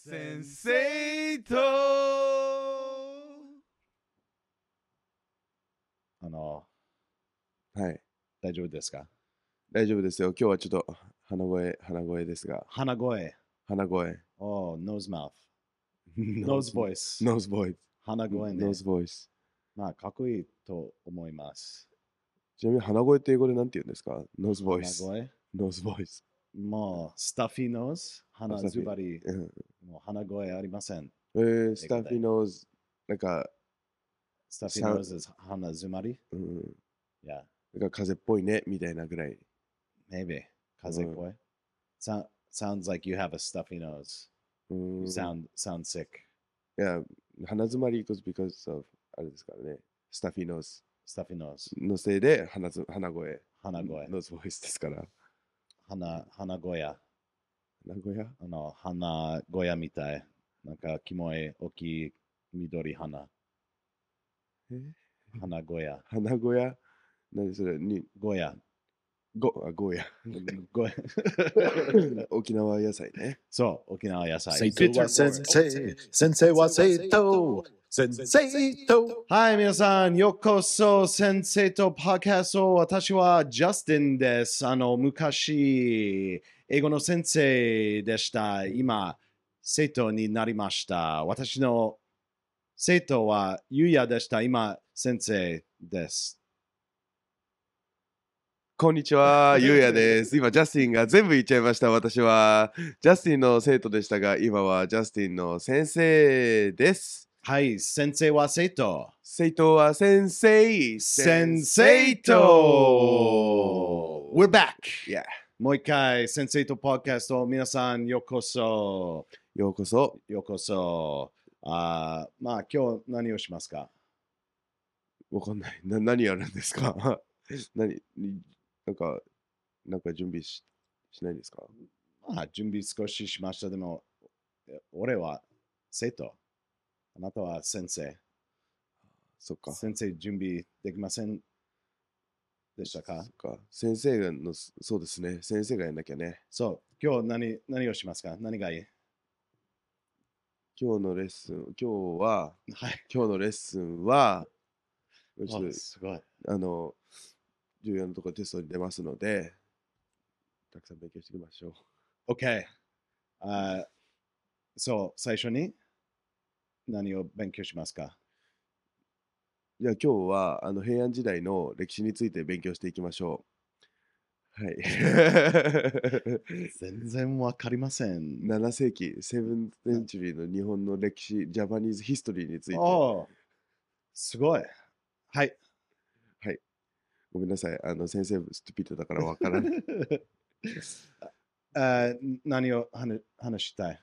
先生とはい。 大丈夫ですか？ 大丈夫ですよ。今日はちょっと鼻声ですが。 鼻声。 鼻声。 Oh, nose mouth. Nose voice. Nose voice. 鼻声ね。 Nose voice. まあ、かっこいいと思います。 ちなみに鼻声って英語でなんて言うんですか？ Nose 鼻 voice. 声 Nose voice. もう、スタッフィーノーズ鼻スタッフィーズバリ、 うんもう鼻声ありません。 スタッフィー nose なんか、 スタッフィーノーズ鼻詰まりうん、 ?Yeah, なんか風邪っぽいねみたいなぐらい。 maybe. 風邪っぽい、Sounds like you have a stuffy nose. うん You sound sick. いや、鼻詰まり because of あれですからね。スタッフィー nose Stuffy nose. のせいで鼻声。 鼻声。 Nose voice ですから。 鼻小屋。 名古屋鼻小屋みたい。なんか、キモい大きい緑花。鼻小屋。 鼻小屋何それに小屋。 ゴーヤ。 小屋。 沖縄野菜ね。 そう、沖縄野菜。 生徒は先生、先生は生徒、先生と。 はい、皆さん、ようこそ、先生とパーキャスト。私はジャスティンです。昔、英語の先生でした。今、生徒になりました。私の生徒はゆうやでした。今、先生です。 こんにちは、ゆうやです。今、ジャスティンが全部言っちゃいました。私は、ジャスティンの生徒でしたが、今はジャスティンの先生です。 はい、先生は生徒。 生徒は先生。 先生と We're back! Yeah. もう一回、先生とパーキャスト、皆さん、ようこそ。 ようこそ。 ようこそ。まあ、今日何をしますか？ わかんない。何やるんですか？なんか準備しないんですか？ まあ、準備少ししました。でも、俺は生徒。あなたは先生。 そっか。 先生、準備できませんでしたか？ 先生の、そうですね。先生がやんなきゃね。 そう、今日何をしますか？何がいい？ 今日のレッスン、 はい。 今日のレッスンは、ちょっすごい。 と、重要なところテストに出ますので、たくさん勉強していきましょう。 OK。そう、最初に何を勉強しますか？ じゃあ今日は平安時代の歴史について勉強していきましょう。はい。 全然わかりません。 7世紀、7th century の日本の歴史、ジャパニーズヒストリーについて。 すごい。はい。 はい。ごめんなさい。先生、ストゥピットだからわからない。 何を話したい？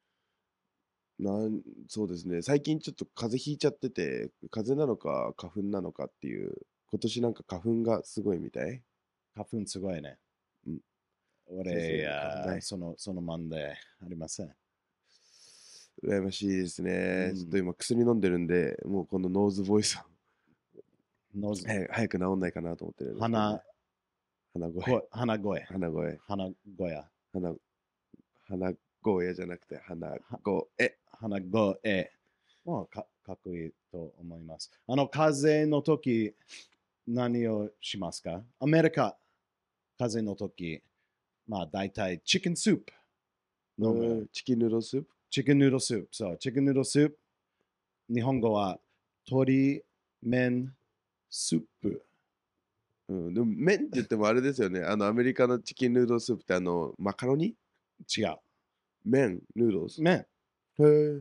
そうですね。最近ちょっと風邪ひいちゃってて、風邪なのか花粉なのかっていう、今年なんか花粉がすごいみたい。 花粉すごいね。 うん。 俺、 花粉ないそのマンでありません。 羨ましいですね。 うんちょっと今薬飲んでるんで、もうこのノーズボイスノーズ早く治んないかなと思ってるんですけどね、鼻声。 鼻声。 鼻声。 鼻声。 鼻声じゃなくて鼻声。 鼻声。もうかっこいいと思います。風邪の時、何をしますか？アメリカ、風邪の時、まあ大体チキンスープ飲む。 チキンヌードルスープチキンヌードルスープ。そう、チキンヌードルスープ。日本語は鶏麺スープ。 でも麺って言ってもあれですよね。アメリカのチキンヌードルスープってマカロニ違う。 麺、ヌードルス。 麺。 へえ。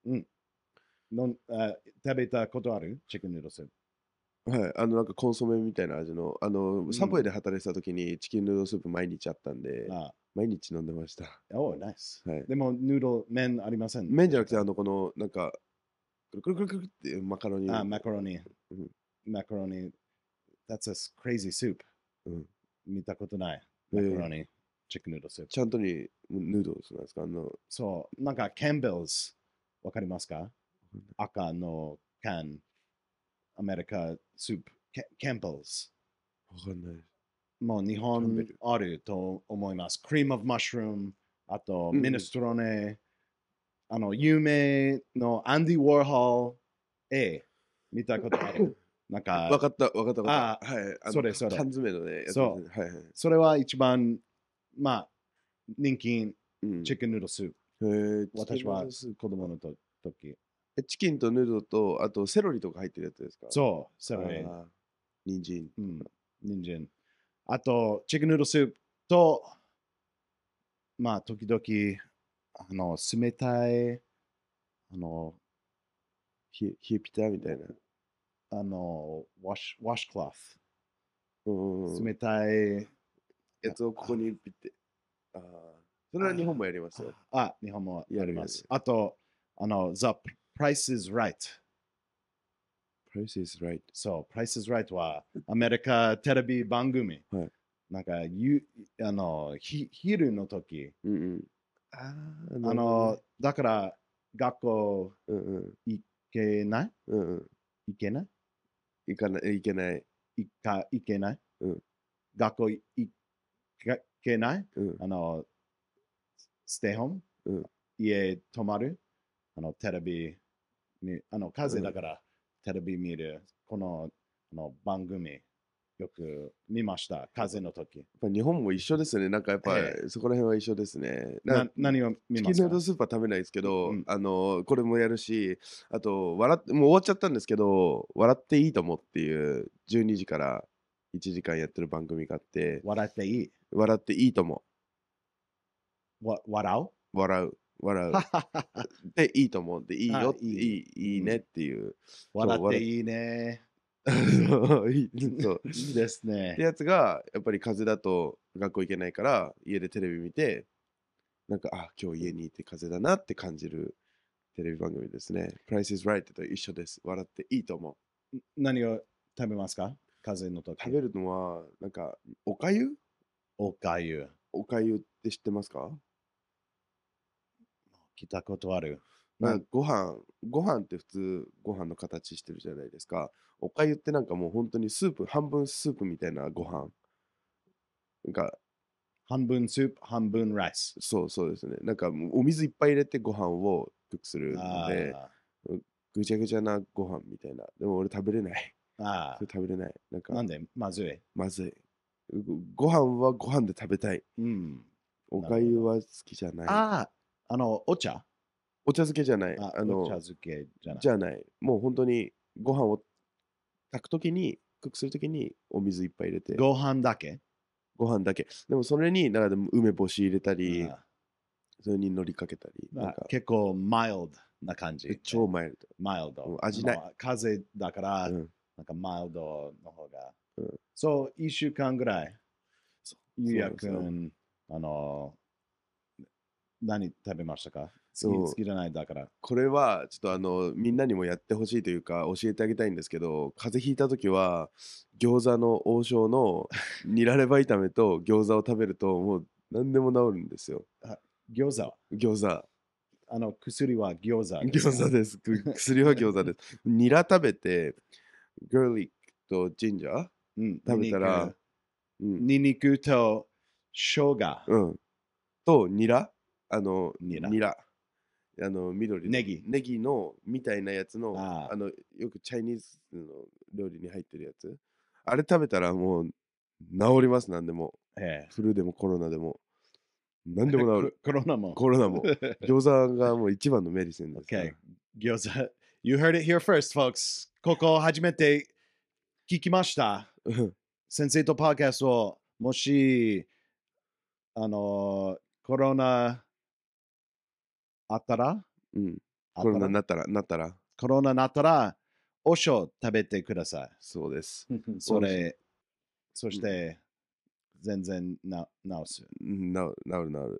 食べたことある？チキンヌードルスープ。 はい、なんかコンソメみたいな味の、サブウェイで働いてた時にチキンヌードルスープ毎日あったんで、毎日飲んでました。 ナイス。 はい、 でも、ヌードル、麺ありません。 麺じゃなくて、この、なんか、くるくるくるくるっていうマカロニ。 マカロニ。マカロニ。That's a crazy soup。見たことない。マカロニ。チキンヌードルスープ。 ちゃんとにヌードルスなんですか？ そう、なんか、キャンベルズ。わかりますか？赤の缶。アメリカスープ。キャンベルズ。 わかんない。 もう日本あると思います。クリームオブマッシュルーム、あとミネストローネ、 有名のアンディ・ウォーホル絵見たことある。なんか、 わかった、わかった、わかった。はい。 それそれ缶詰のね、やつですそね。はいはい。 それは一番、まあ、人気、 うん。 チキンヌードルスープ。 へえ、 私はチキン子供の時。 チキンとヌードルと、あとセロリとか入ってるやつですか？ そう、それ。 あー人参。 人参。あと、チキンヌードルスープと、まあ、時々、冷たい、 冷えピタみたいな。 ワッシュクロス。 うん。 冷たい。 やつをここにピッて。ああ。それは日本もやりますよ。 日本もあります。 やるやる。 あと、The Price is Right。 Price is right。 そう、Price is Right はアメリカテレビ番組。 はい。 なんか、昼の時、 うんうん。ああ、なるほどね。 だから学校うんうん。 行けないうんうん。 行けない行かない、行けない。 行けないうん学校行けないうん。 ステイホームうん。 家泊まるテレビに、風うんだからテレビ見る、この、番組、よく見ました、風の時。 やっぱ日本も一緒ですね。なんかやっぱえそこら辺は一緒ですね。 何を見ますかチキンヌードルスープは食べないですけど、 うんこれもやるし、あと、もう終わっちゃったんですけど、笑っていいともっていう12時から1時間やってる番組があって、 笑っていい笑っていいとも。 笑う笑う。笑う。で、いいと思う。で、いいよって、 いいいいねっていう。 笑っていいね。 そう、そう。 いいですってね。 やつが、やっぱり風邪だと学校行けないから、家でテレビ見て、なんか、あ、今日家にいて風邪だなって感じるテレビ番組ですね。Price is Right と一緒です。笑っていいと思う。 何を食べますか風邪の時。 食べるのは、なんか、おかゆおかゆ。 おかゆって知ってますか？ 聞いたことある。 まあ、ご飯って普通ご飯の形してるじゃないですか。おかゆってなんかもう本当にスープ、半分スープみたいなご飯。なんか、 半分スープ、半分ライス。 そうですね。なんかもうお水いっぱい入れてご飯をクックするので、ぐちゃぐちゃなご飯みたいな。でも俺食べれない。それ食べれない。なんか、 なんでまずい。 まずい。ご飯はご飯で食べたい。おかゆは好きじゃない。 お茶お茶漬けじゃない。 お茶漬けじゃない。 じゃない。もう本当にご飯を炊くときに、クックするときにお水いっぱい入れて。 ご飯だけご飯だけ。でもそれに、なんか梅干し入れたり、それに海苔かけたり。 結構マイルドな感じ。 超マイルド。 マイルド。 味ない。 風邪だから、なんかマイルドの方が。そう、1週間ぐらい。ゆうやくん、何食べましたか？好きじゃないだから。 これはちょっとみんなにもやってほしいというか教えてあげたいんですけど、風邪ひいた時は餃子の王将のニラレバ炒めと餃子を食べるともう何でも治るんですよ。 餃子薬は餃子です。 餃子です。薬は餃子です。ニラ食べて、ガーリックとジンジャー、食べたら、 ニンニクと生姜、 とニラニラ緑ネギのみたいなやつのよくチャイニーズの料理に入ってるやつ、あれ食べたらもう治ります。何でもフルでもコロナでも何でも治る。 コロナも餃子がもう一番のメディシンですから。 餃子 You heard it here first, folks. ここ初めて聞きました。先生とパーキャストをもしコロナあったら、 コロナなったらコロナなったらおしょ食べてください。 そうです。 そして、全然治す。 治る。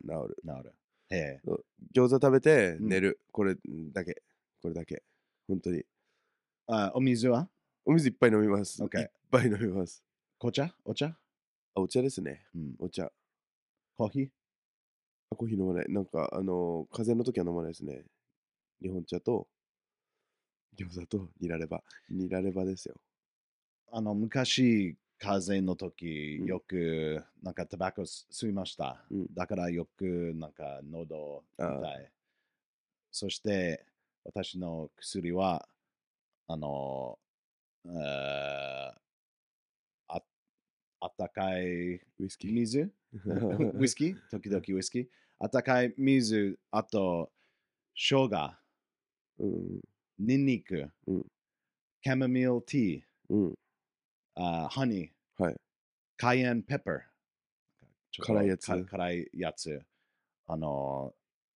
餃子食べて寝る。これだけ。本当に。 お水は？ お水いっぱい飲みます。いっぱい飲みます。 お茶お茶ですね。お茶。 コーヒー飲まない。なんか、風邪の時は飲まないですね。日本茶と、餃子とニラレバ。ニラレバですよ。 昔、風邪の時、よく、なんかタバコ吸いました。だからよく、なんか喉痛い。 そして、私の薬は、あの、ああったかいウイスキー。 水ウイスキー時々ウイスキーあったかい水、あと、生姜、 うんニンニク、 うんカモミールティー、 うん。 ハニー、 はい。 カイエンペッパー。ちょっと辛いやつ辛いやつ。あの、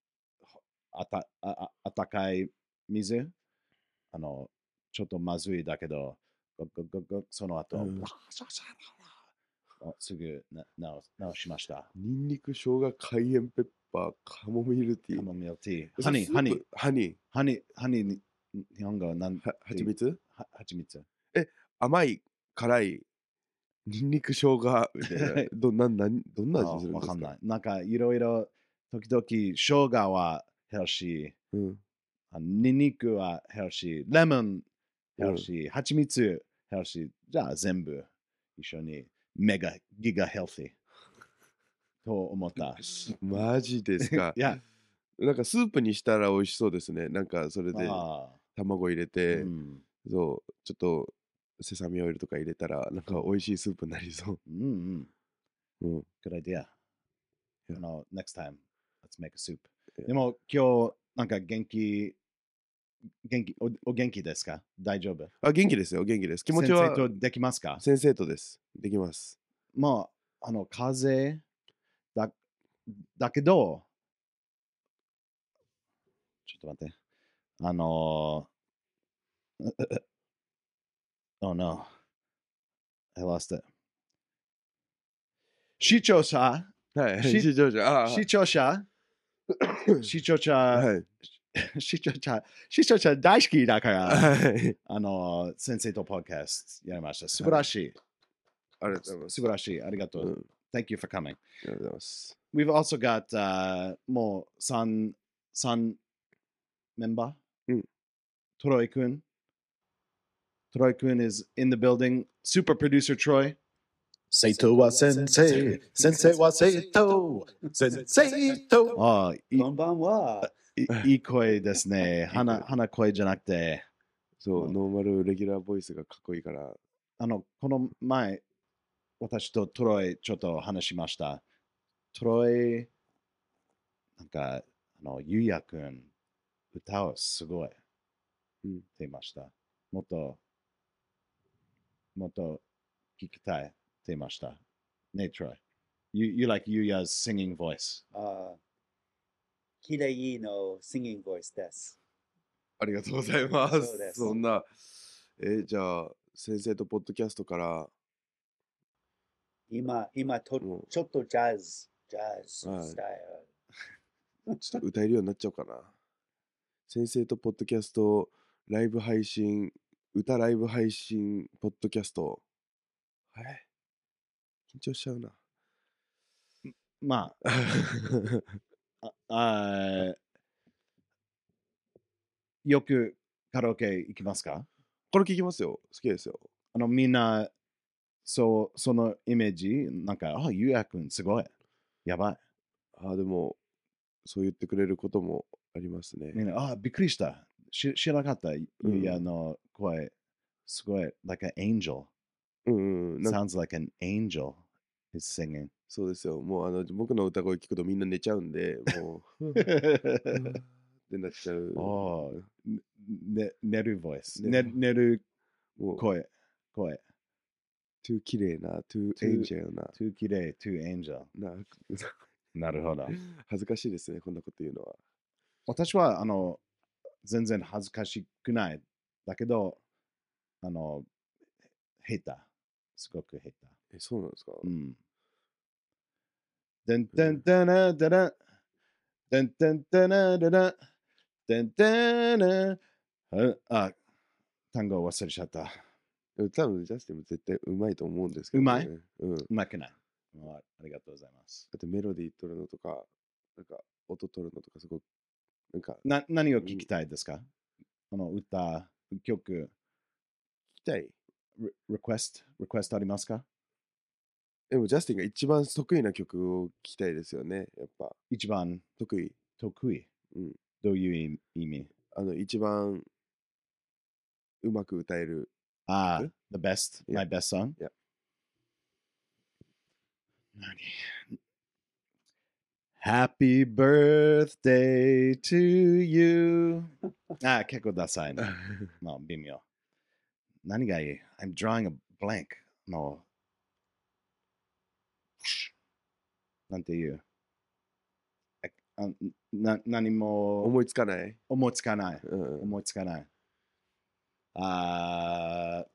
あったかい水。ちょっとまずいだけど、その後、 うんすぐ直しました。 ニンニク、生姜、カイエンペッパー、カモミールティー。 カモミールティー。 それスープハニハニー、日本語は何ー。蜂蜜蜂蜜。 甘い、辛い、ニンニク、生姜みたいな。どんな味するんですか？ わかんない。なんかいろいろ、時々、生姜はヘルシー。 うん。 ニンニクはヘルシー。レモンヘうんルシー。蜂蜜ヘルシー。じゃあ全部一緒にギガヘルシーと思った。 マジですか。 いや、 なんかスープにしたら美味しそうですね。なんかそれであ卵入れあ、 て、 うん。 そう、ちょっとセサミオイルとか入れたら、なんか美味しいスープになりそうんうん。 う。うん。 Good idea. Yeah. Next time, let's make a soup. Yeah. でも今日、なんかお元気ですか？大丈夫？ あ、元気ですよ、元気です。気持ち先生はとできますか？ 先生とです。できます。 まあ、風邪だけど、ちょっと待って。oh no, I lost it. 視聴者、 はい、 し視聴者。ああ、 視聴者、視聴者、 はい。 視聴者大好きだから、 はい。 先生とポッドキャストやりました。素晴らしい。 ありがとうございます。 素晴らしい。ありがとうん、あう。Thank you for coming. りがとうございます。 We've also got もう3メンバー、 うん、 トロイ君。トロイ君 is in the building. Super producer Troy. 生徒は先生、先生は生徒、先生と。 ああ、 こんばんは。 いい声ですね。鼻声じゃなくて。 そう、ノーマルレギュラーボイスがかっこいいから。 この前、私とトロイちょっと話しました。トロイ、なんか、ゆうやくん、歌をすごい、 うんって言いました。もっと聞きたいって言いました。ね、トロイ。You like Yuya's singing voice. きれいの singing voice です。 ありがとうございます。 そうですそんな、じゃあ、先生とポッドキャストから、 今もうちょっとジャズはいスタイちょっと歌えるようになっちゃおうかな。先生とポッドキャスト、ライブ配信、歌ライブ配信、ポッドキャスト。緊張しちゃうな。 まあ、よくカラオケ行きますか？ これ聞きますよ。好きですよ。 みんな、そのイメージ、なんか、ゆうやくんすごい。やばい。 でも、そう言ってくれることもありますね。 みんな、びっくりした。知らなかった。ゆうやの声、すごい、like an angel. うんうん。なんか Sounds like an angel is singing. そうですよ。もう僕の歌声聞くとみんな寝ちゃうんで、もう、ってなっちゃう。 寝るボイス。 ね寝るもう、 声。 too 綺麗な、too angel な。 too 綺麗 too angel. なるほど。 恥ずかしいですね、こんなこと言うのは。 私は、全然恥ずかしくない。だけど、下手。すごく下手。 そうなんですか？ うん。でんてんてなでら。でんてんてなでら。でんてな。単語忘れちゃった。 多分、ジャスティンも絶対うまいと思うんですけど、 うまい？ うん。 うまくない。ありがとうございます。 だってメロディー取るのとか、なんか音取るのとかすごく、なんか何を聞きたいですか？歌、曲、 聞きたい。 リクエストありますか？ でも、ジャスティンが一番得意な曲を聞きたいですよね、やっぱ。 一番得意。 得意。 うん。 どういう意味？ 一番うまく歌える。 ああ、 曲 the best, Yeah. my best song? Yeah. 何 Happy birthday to you. ああ、結構ダサいね。まあ、微妙。何がいい ?I'm drawing a blank. の、なんていうあ何も思いつかない。 思いつかない。 うん思いつかない。あー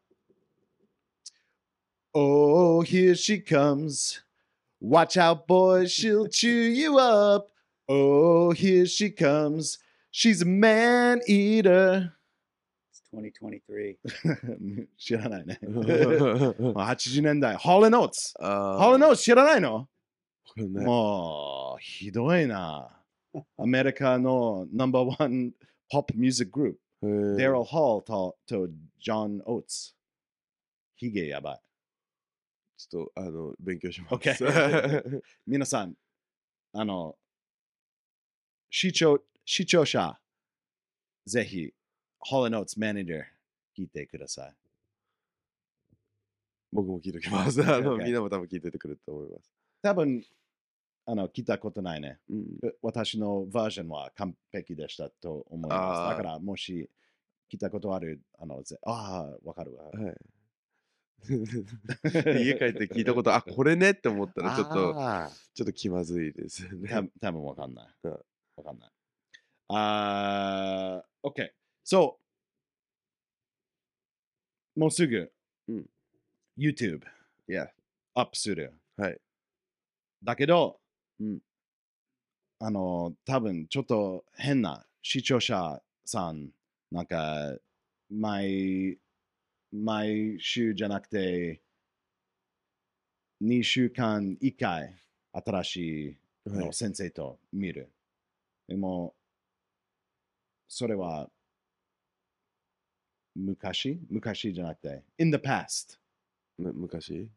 Oh, here she comes. Watch out, boys, she'll chew you up. Oh, here she comes. She's a man eater. It's 2023. 知らないね。 うん 80年代。ホールノーツ。 あホールノーツ知らないのこれねもう、ひどいな。アメリカのナンバーワンポップミュージックグループ。デちロ・ホールとジョン・オーツ。ヒゲやばい。 ょっと勉強します。 OK 皆さん、視聴者、ぜひ、ホールノーツマネージャー聞いてください。 僕も聞いておきます。 OK みんなも多分聞いててくれると思います。 多分、聞いたことないね。 うん、 私のバージョンは完璧でしたと思います。 あーだから、もし聞いたことある、わかるわ。 はい。家帰って聞いたこと、あ、これねって思ったらちょっあと気まずいですよね。 多分わかんない。 うんわかんない。OK。So、もうすぐ、 うん YouTube いや、 アップする。 はい。 だけど、 うん多分ちょっと変な視聴者さん、なんか、毎週じゃなくて、2週間1回、新しいはい先生と見る。でも、それは昔じゃなくて、in the past。 昔、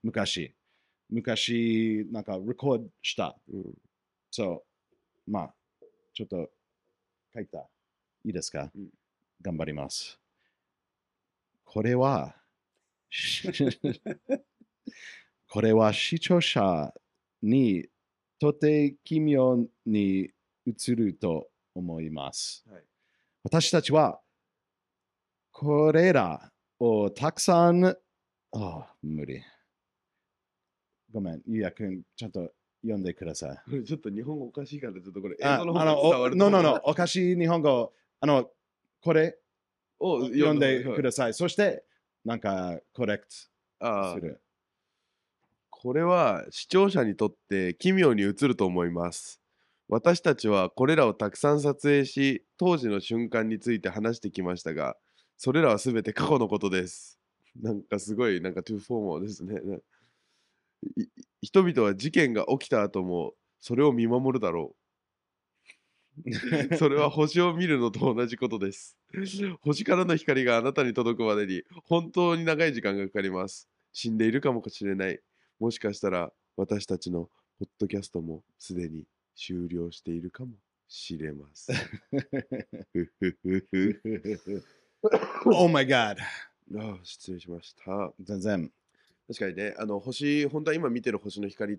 昔、なんか、レコードした。 うんそう、まあ、ちょっと書いた。いいですか、 うん頑張ります。これは、これは視聴者にとて奇妙に映ると思います。 はい私たちはこれらをたくさん、無理。ごめん、ゆうやくん、ちゃんと読んでください。 これちょっと日本語おかしいから、ちょっとこれ英あ語の方が伝わると思う。 の、おかしい日本語、これを読んでくる。 ださい。そして、なんか、コレクあートする。 これは視聴者にとって奇妙に映ると思います。私たちはこれらをたくさん撮影し、当時の瞬間について話してきましたが、それらはすべて過去のことです。なんかすごい、なんかトゥーフォーマーですね。い人々は事件が起きた後もそれを見守るだろう。それは星を見るのと同じことです。星からの光があなたに届くまでに本当に長い時間がかかります。死んでいるかもしれない。もしかしたら私たちのポッドキャストもすでに終了しているかもしれません。 Oh my god! 失礼しました。 全然。 確かにね、星、本当は今見てる星の光って、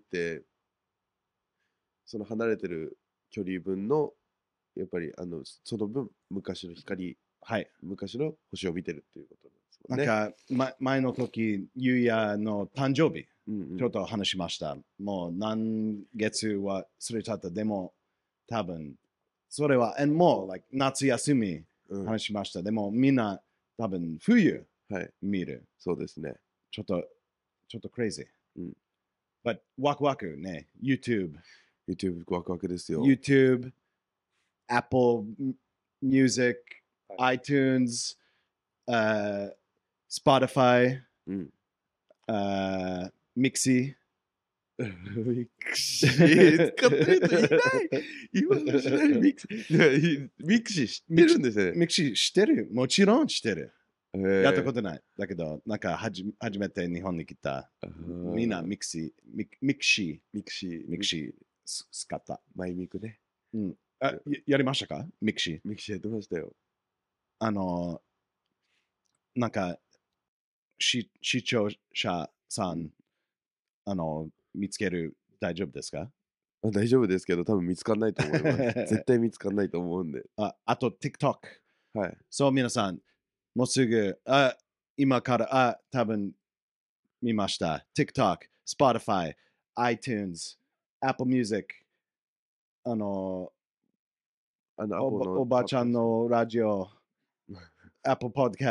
その離れてる距離分の、やっぱりその分、昔の光、 はい。 昔の星を見てるっていうことなんですなもんね。 んか、前の時、ゆうやの誕生日、 うんうんちょっと話しました。もう何月は忘れちゃった。でも、多分、それは、もう、like、夏休みうん話しました。でも、みんな、多分、冬はい、 見る。 そうですね。 ちょっとクレイジー。 うん But ワクワクね。YouTube、 YouTube ワクワクですよ。 YouTube、Apple Music、iTunes、Spotify、 うん。 Mixi。 ミクシー使ってる人いない。今の時代にミクシー。ミクシー知ってるんですね。 Mixi 知ってるもちろん知ってる。やったこととない。だけど、なんか初めて日本に来た。みんなミクシーミクシー。 使った。 マイミクね。 うん。 やりましたかミクシー。 ミキシーやってましたよ。 なんか、視聴者さん、見つける大丈夫ですか？ 大丈夫ですけど、多分見つかんないと思います。絶対見つかんないと思うんで。 あと TikTok。 はい。 そう、皆さん、もうすぐ、今から、多分見ました。TikTok、Spotify、iTunes、Apple Music、おばちゃんのラジオ、Apple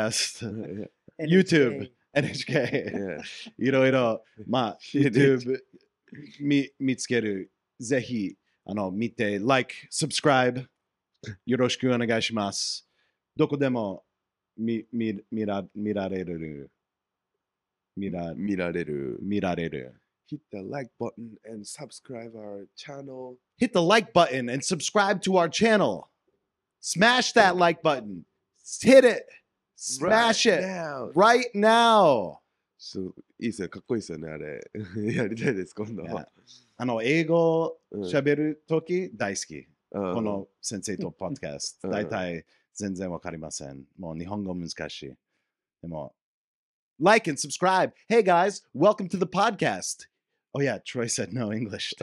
Podcast、YouTube、NHK、いろいろ、YouTube 見つける。ぜひ、見て、Like、Subscribe、よろしくお願いします。どこでも見られる。見られる。 Hit the like button and subscribe our channel. Hit the like button and subscribe to our channel. Smash that like button. Hit it. Smash it right now. いいですよ、かっこいいですよね、あれ。やりたいです、今度は。 英語喋るとき大好き。この先生とポッドキャスト。大体全然わかりません。もう日本語難しい。でも、like and subscribe. Hey guys, welcome to the podcast. Oh yeah, Troy said no English.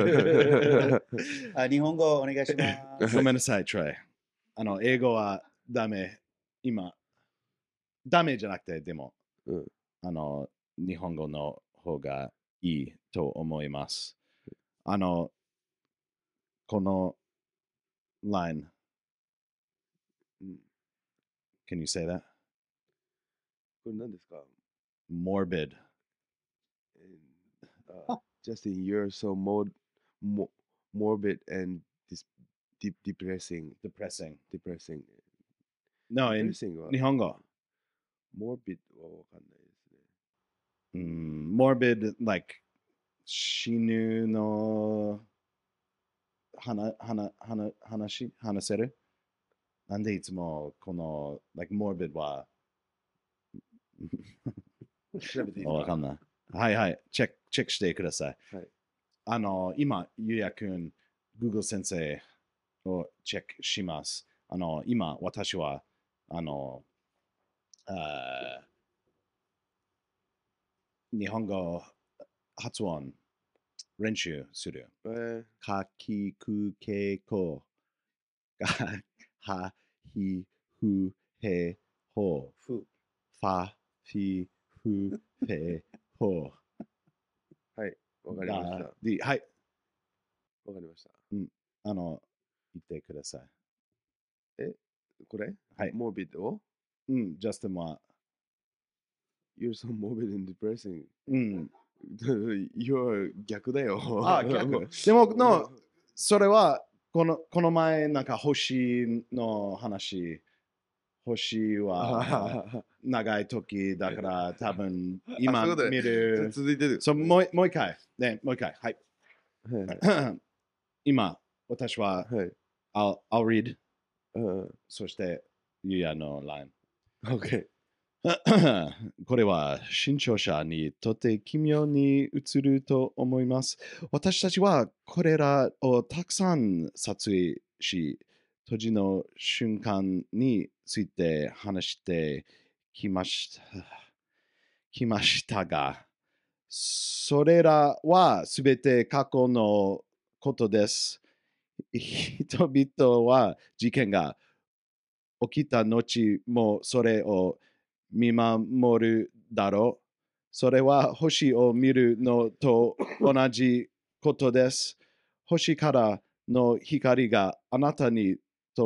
日本語お願いします。 ごめんなさい、Troy。英語はダメ。今、ダメじゃなくて、でも、日本語の方がいいと思います。この line. Can you say that? これ何ですか？ Morbid. Justin, you're so morbid and depressing. No, in Depressing は日本語。 morbid はわかんないですね。 morbid, like 死ぬの話せる？なんでいつもこの like morbid は調べていいですか？ わかんない。はいはい、チェックしてください。 はい、 今、ゆうやくん、Google 先生をチェックします。今、私は、日本語発音練習する。かきくけこがはひふへほふフィフへほはい、わかりました。 はい。 わかりました。 言ってください。 これはい。 morbid をジャスティンは You're so morbid and depressing. 逆だよ。 逆。でも、それは、この前、なんか星の話、星は長い時だから、多分今見る。 続いてる。 もう一回。ね、もう一回。はい。今、私は、I'll read。そして、ゆうやの line。 OK。 これは新潮社にとて奇妙に映ると思います。私たちはこれらをたくさん撮影し、閉じの瞬間について話してきましたが、それらはすべて過去のことです。人々は事件が起きた後もそれを見守るだろう。それは星を見るのと同じことです。星からの光があなたに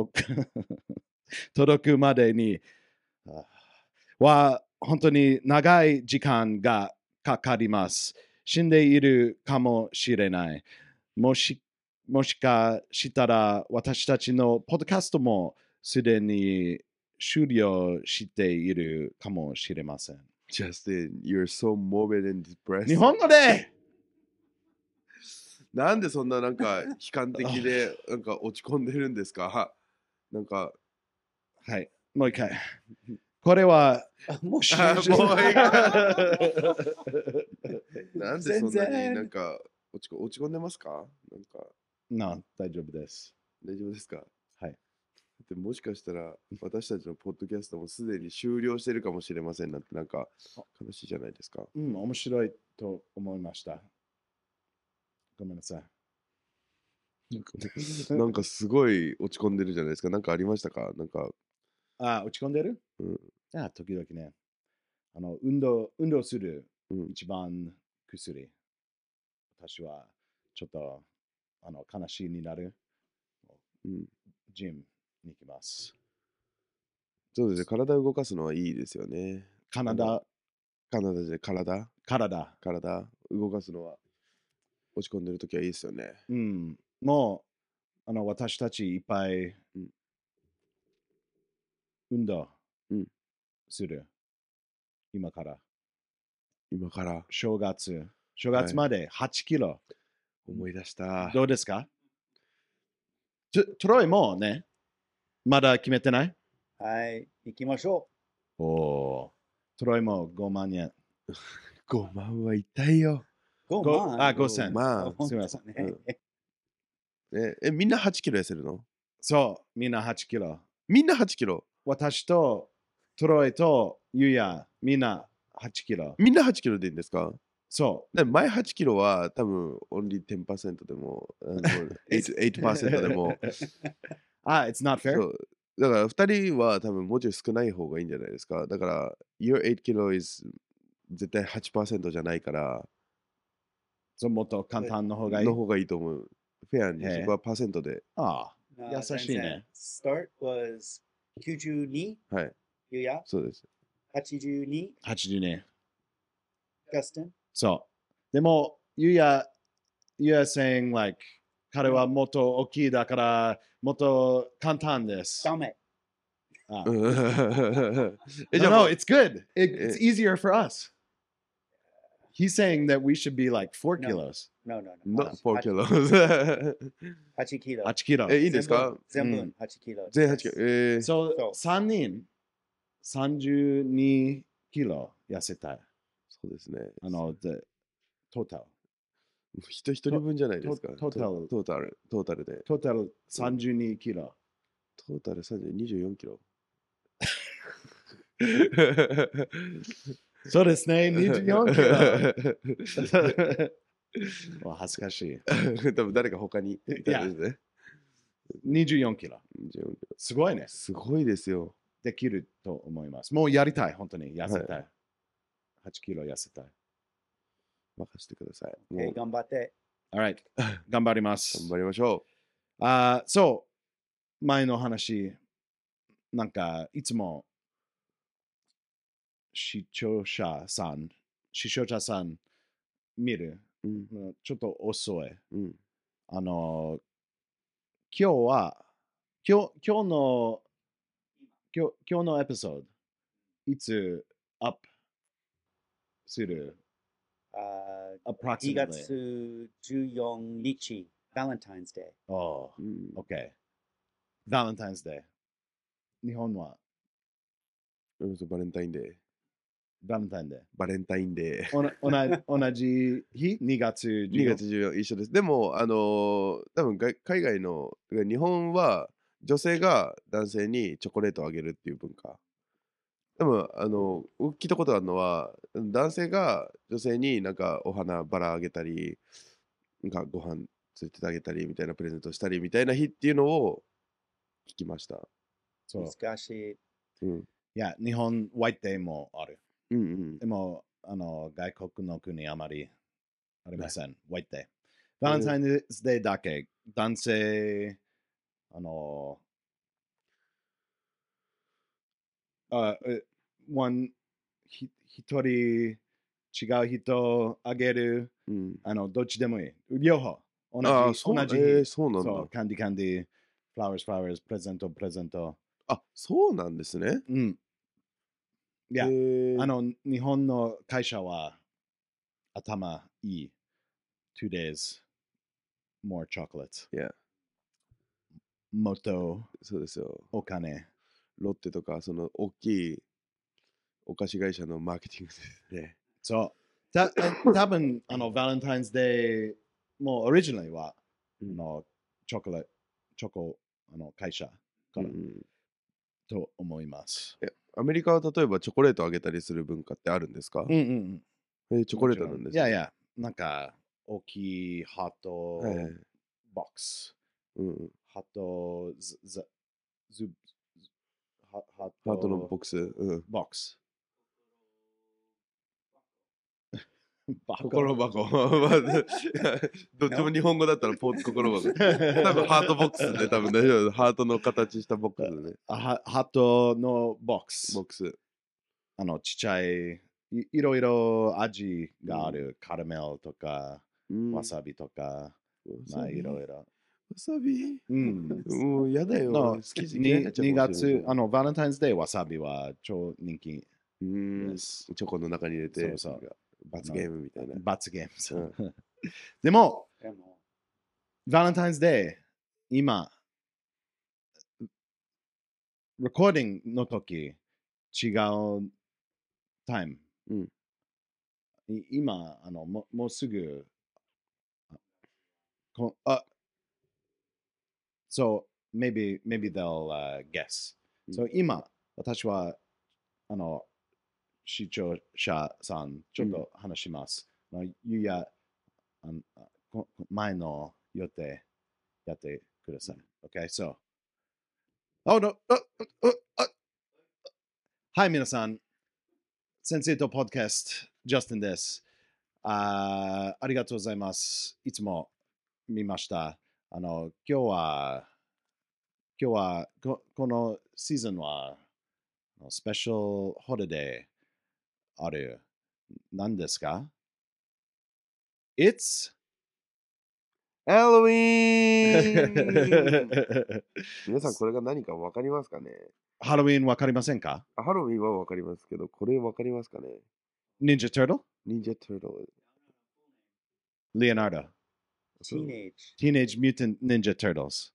届くまでには本当に長い時間がかかります。死んでいるかもしれない。もしかしたら私たちのポッドキャストもすでに終了しているかもしれません。 Justin, you're so morbid and depressed. 日本語でなんでそんななんか悲観的でなんか落ち込んでるんですか？なんかはい、もう一回。これはもういいなんでそんなになんか落ち込んでますか？なんか大丈夫です。 大丈夫ですか？ はい。 でもしかしたら私たちのポッドキャストもすでに終了してるかもしれませんなんてなんか悲しいじゃないですか。 面白いと思いました。ごめんなさい。 なんかすごい落ち込んでるじゃないですか。なんかありましたか？なんか、 落ち込んでる？時々ね。運動する一番薬。私はちょっと悲しいになる。ジムに行きます。 そうですね。体を動かすのはいいですよね。 体じゃ体動かすのは落ち込んでるときはいいですよね。 もう私たちいっぱい運動する。今から。正月まで8キロ。 思い出した。 どうですか？トロイもね、まだ決めてない？ はい、行きましょトロイも5万円。 5万は痛いよ。 う。5万。 5000。 まあ、 すみません。 みんな8キロ痩せるの？ そう、みんな8キロ。 みんな8キロ。 私とトロイとユヤ、みんな8キロ。 みんな8キロでいいんですか？ そう。 で前8キロは多分オンリー10% でも 8% でも it's not fair? そうだから2人は多分もうちょい少ない方がいいんじゃないですか。だから Your 8 kilo is 絶対 8% じゃないからもっと簡単の方がいい。 の方がいいと思う。フェアにそこはパーセントで。 優しいね。 Start was 92。 はい。 ユヤ。 そうです。 82。 82。 Justin。 そう。でも、ユヤ saying like 彼はもっと大きいだからもっと簡単です。 ダメ。 No, じゃあ it's good. It's easier for us. He's saying that we should be like 4 kilos. No. Not 4 kilos 8キロ。 8キロ。 いいんですか？ 全部8キロ。 全8キロ。 そう、3人32キロ痩せたい。 そうですね。 トータル。 一人分じゃないですか。 トータルで。トータル32キロ。 トータル24キロ。 そうですね、24キロ。恥ずかしい。 多分誰か他にいたんですね。 24キロ。すごいね。 すごいですよ。 できると思います。もうやりたい、本当に。痩せたい。8キロ痩せたい。 任せてください。 頑張って。 Alright. 頑張ります。 頑張りましょそう。前の話、なんかいつも視聴者さん見る。ちょっと遅い。今日のエピソード、いつアップする 2月14日、Valentine's Day。 OK。Valentine's Day。日本はバレンタインデー。 バレンタインデー。 バレンタインデー。 同じ日 ?2 月14日。 2月14日一緒です。でも、多分海外の、日本は女性が男性にチョコレートをあげるっていう文化。でも、聞いたことあるのは、男性が女性になんかお花、バラあげたり、なんかご飯連れてあげたりみたいなプレゼントしたりみたいな日っていうのを聞きました。 難しい。 いや、日本、ホワイトデーもある。 うんうん、 でも、外国の国あまりありません。ホワイトデー。バレンタインデーだけ、男性、一人違う人あげる、どっちでもいい。両方。同じ日。 そうなんだ。 そう、キャンディー、フラワーズ、プレゼント。 あ、そうなんですね。 いや、日本の会社は頭いい。2 days more chocolate. もっとそうですよ。 お金。 ロッテとか、その大きいお菓子会社のマーケティングですね。 そう。多分バレンタインズデーもオリジナルはチョコレチョコ会社から、と思います。 アメリカは例えばチョコレートあげたりする文化ってあるんですか？チョコレートなんですね。 いやいや、なんか大きいハートボックス。ハートハートのボックス。 ボックス。 心箱。どっちも日本語だったら心箱。多分ハートボックスで多分大丈夫。ハートの形したボックスでね。 ハートのボックス。ちっちゃい、いろいろ味がある。カラメルとか、わさびとか、まあいろいろ。 わさびもうやだよ。好き 2月、バレンタインズデーわさびは超人気です。 チョコの中に入れて、罰ゲームみたいな。 罰ゲーム。でも、バレンタインズデー、今、レコーディングの時、違うタイム。今、もうすぐ、so maybe they'll guess. So 今、私は、視聴者さん、ちょっと話します。ゆうや、前の予定やってください。Okay, so. Oh, no. はい、皆さん。先生とポッドキャスト、ジャスティンです。ありがとうございます。いつも見ました。今日はこのシーズンはスペシャルホリデーある。何ですか？ It's Halloween! 皆さんこれが何か分かりますかね？ ハロウィン分かりませんか？ ハロウィンは分かりますけど、これ分かりますかね？ ニンジャトゥートル？ ニンジャトゥートル。 レオナルド。Teenage Mutant Ninja Turtles。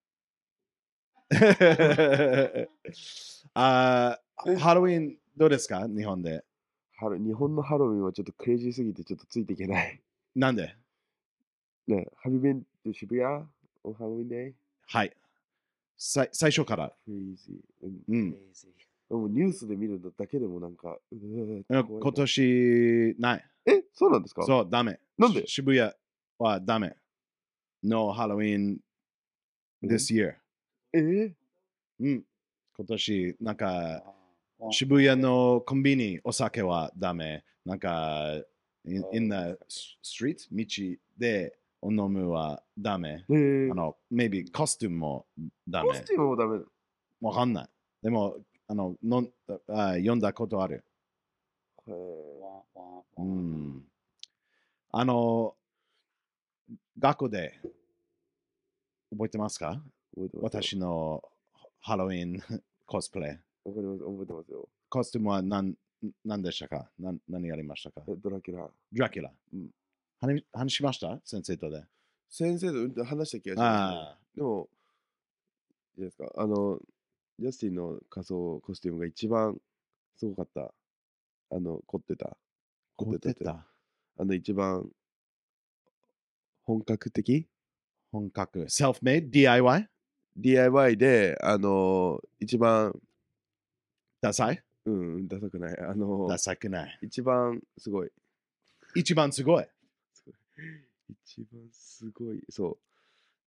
ハロウィンどうですか？日本で。 日本のハロウィンはちょっとクレイジーすぎてちょっとついていけない。 なんで？ ね、Have you been to 渋谷 on Halloween day? はい。最初から。 クレイジー。もうニュースで見るだけでもなんか、 今年ない。 そうなんですか？ そう、ダメ。 なんで？ 渋谷はダメ。No Halloween this year。今年、なんか、渋谷のコンビニ、お酒はダメ。なんか、in the street、道で飲むはダメ。maybe コスチュームもダメ。 コスチュームもダメ。 わかんない。でも、読んだことある。学校で覚えてますか？私のハロウィンコスプレ。 覚えてますよ。 コスチュームは何でしたか？何やりましたか？ ドラキュラ。 話しました先生とで。 先生と話した気がします、ね。でも、いいですか？ジャスティンの仮装コスチュームが一番すごかった。凝ってた。一番本格的？ セルフメイド DIY？ DIY で、一番ダサい？ ダサくない。 ダサくない。 一番すごい。 一番すごい。そう。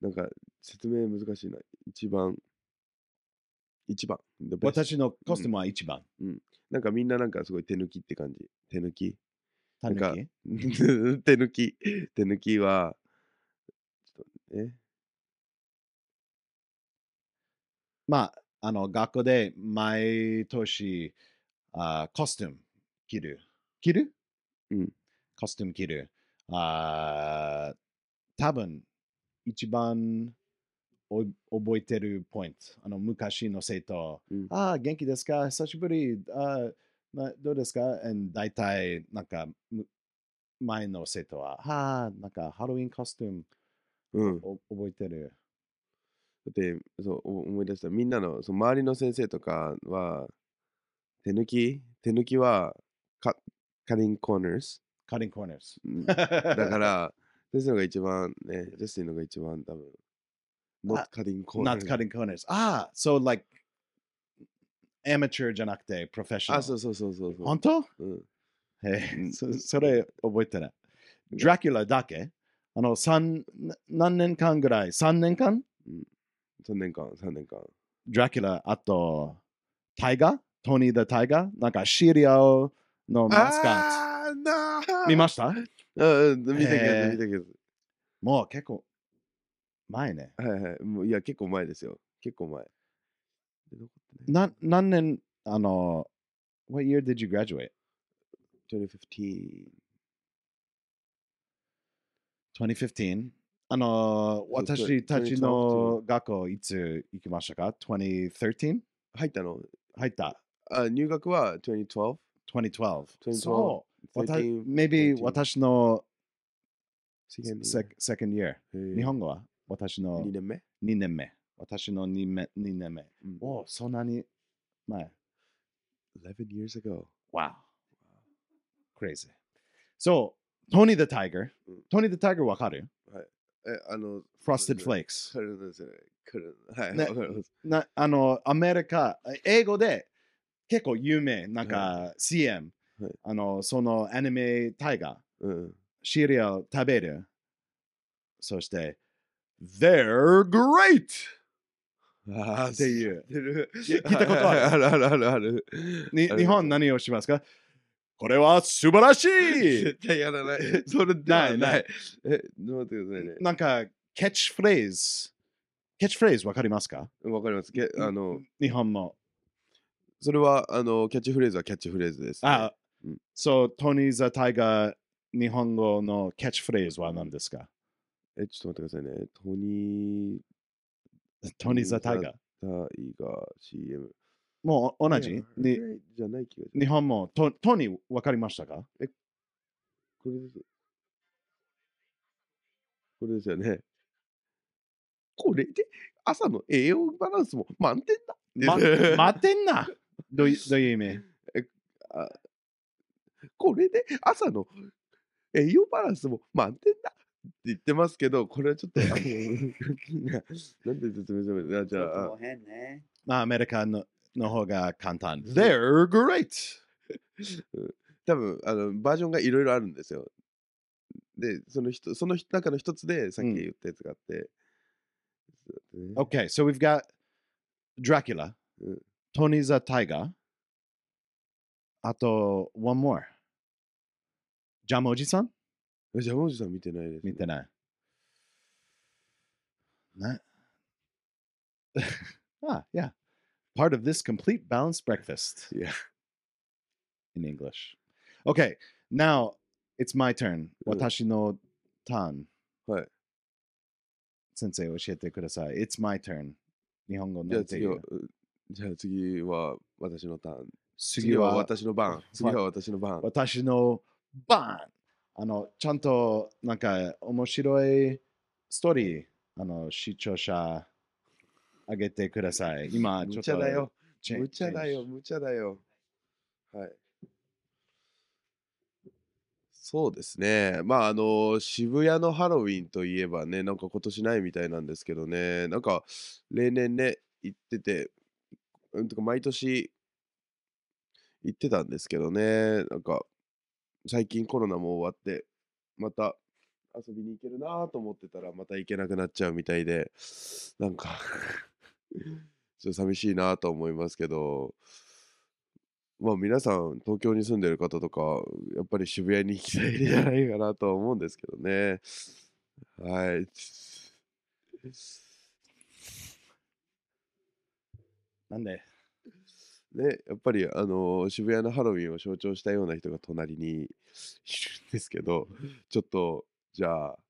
なんか説明難しいな。一番。 私のコスチュームは一番。 なんかみんななんかすごい手抜きって感じ。手抜き手抜きは、ちょっとね。 まあ、学校で毎年コスチューム着る。コスチューム着る。多分、一番覚えてるポイント。昔の生徒、元気ですか？久しぶり。どうですか？大体、なんか、前の生徒は、なんかハロウィンコスチューム、覚えてる。 で、思い出した。みんなの、周りの先生とかは、手抜きは、カッティングコーナーズ。だから、先生のが一番ね、ジャスティンのが一番多分、 not cutting corners. Not cutting corners. Ah, so like amateur じゃなくて professional. あ、そうそうそうそうそう。 本当うん。 それ覚えてない。ドラキュラだけ何年間ぐらい ?3 年間 3年間。 ドラキュラ、あと、タイガートニー・ザ・タイガーなんかシリアルのマスカッあーなト。 ー見ました見たけど。 もう結構前ね。 はいはい。もういや、結構前ですよ。結構前。 何年、what year did you graduate? 2015。 2015? 私たち 2012 の学校いつ行きましたか ?2013? 入ったの入った入学は2012。 2012. 2012 そう。 13 maybe 14 私の Second second year. 日本語は私の 2年目 2年目。私の2年目。おそんなに前。 11 years ago. Wow. Crazy. So, Tony the Tiger. うん Tony the Tiger わかる Frosted Frosted Flakes. カルですね。はい、 ねわかります。 アメリカ、英語で結構有名、なんか CM、 はいそのアニメタイガー、 うん。 シリアル食べる。そして、They're great! ああ、 っていう。 聞いたことあるある。 日本何をしますかこれは素晴らしい絶対やらない。それではなないい。待ってくださいね。 なんか、キャッチフレーズわかりますかわかります。 日本も。 それは、キャッチフレーズはキャッチフレーズです、ね。 あ、 うんそう、トニー・ザ・タイガー、日本語のキャッチフレーズは何ですかちょっと待ってくださいね。トニトニー・ザ・タイガー。 ー・タイガー CM。 もう同じいやじゃない気がします。 日本もトニーわかりましたかこれです。これですよね。これで朝の栄養バランスも満点だ。 待ってんなどういう意味これで朝の栄養バランスも満点だって言ってますけど、これはちょっと、なんで説明するのじゃあ、 変ね。 まあ、アメリカの方が簡単。They're great! 多分バージョンがいろいろあるんですよ。で、その中の一つでさっき言ったやつがあって。 Okay, so we've got Dracula, うん Tony the Tiger, あと、one more. ジャムおじさんじゃあ、もじさん見てないです、 見てない。ね。yeah. Part of this complete balanced breakfast Yeah. in English. Okay, now it's my turn. うん私のターン。 はい。 先生教えてください。It's my turn. 日本語じゃあなんていう次は私のターン。 次は私の番。次は私の番。 私の番。ちゃんとなんか面白いストーリー、視聴者あげてください。今、ちょっと無茶だよ。 チェン無茶だよ。無茶だよ。はい。そうですね。まあ、渋谷のハロウィンといえばね、なんか今年ないみたいなんですけどね、なんか例年ね、行ってて、とか毎年行ってたんですけどね、なんか最近コロナも終わって、また遊びに行けるなと思ってたら、また行けなくなっちゃうみたいで、なんかちょっと寂しいなと思いますけど、まあ皆さん東京に住んでる方とかやっぱり渋谷に行きたいんじゃないかなとは思うんですけどね。はい。 なんでね、やっぱり渋谷のハロウィンを象徴したような人が隣にいるんですけど、ちょっとじゃあ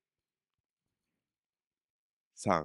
3。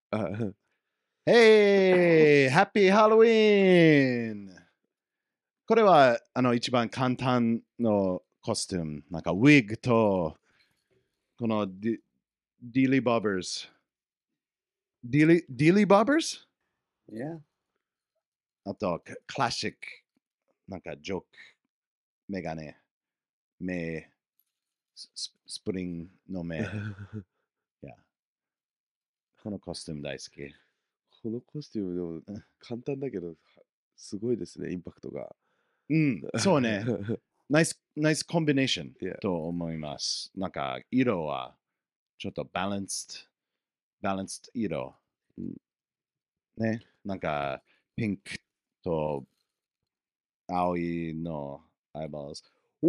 Hey! Happy Halloween! これは一番簡単のコスチューム。なんかウィッグとこのディリー・ボバーズ。ディリー・ボバーズ Yeah. あと、クラシック。なんかジョーク。メガネ。目。スプリングの目。Yeah. このコスチューム大好き。 このコスチュームでも簡単だけど、すごいですね、インパクトが。 うん、そうね。ナイスコンビネーション Yeah. と思います。なんか色はちょっとバランス色。 うんね。なんかピンクと青いのアイバーズ。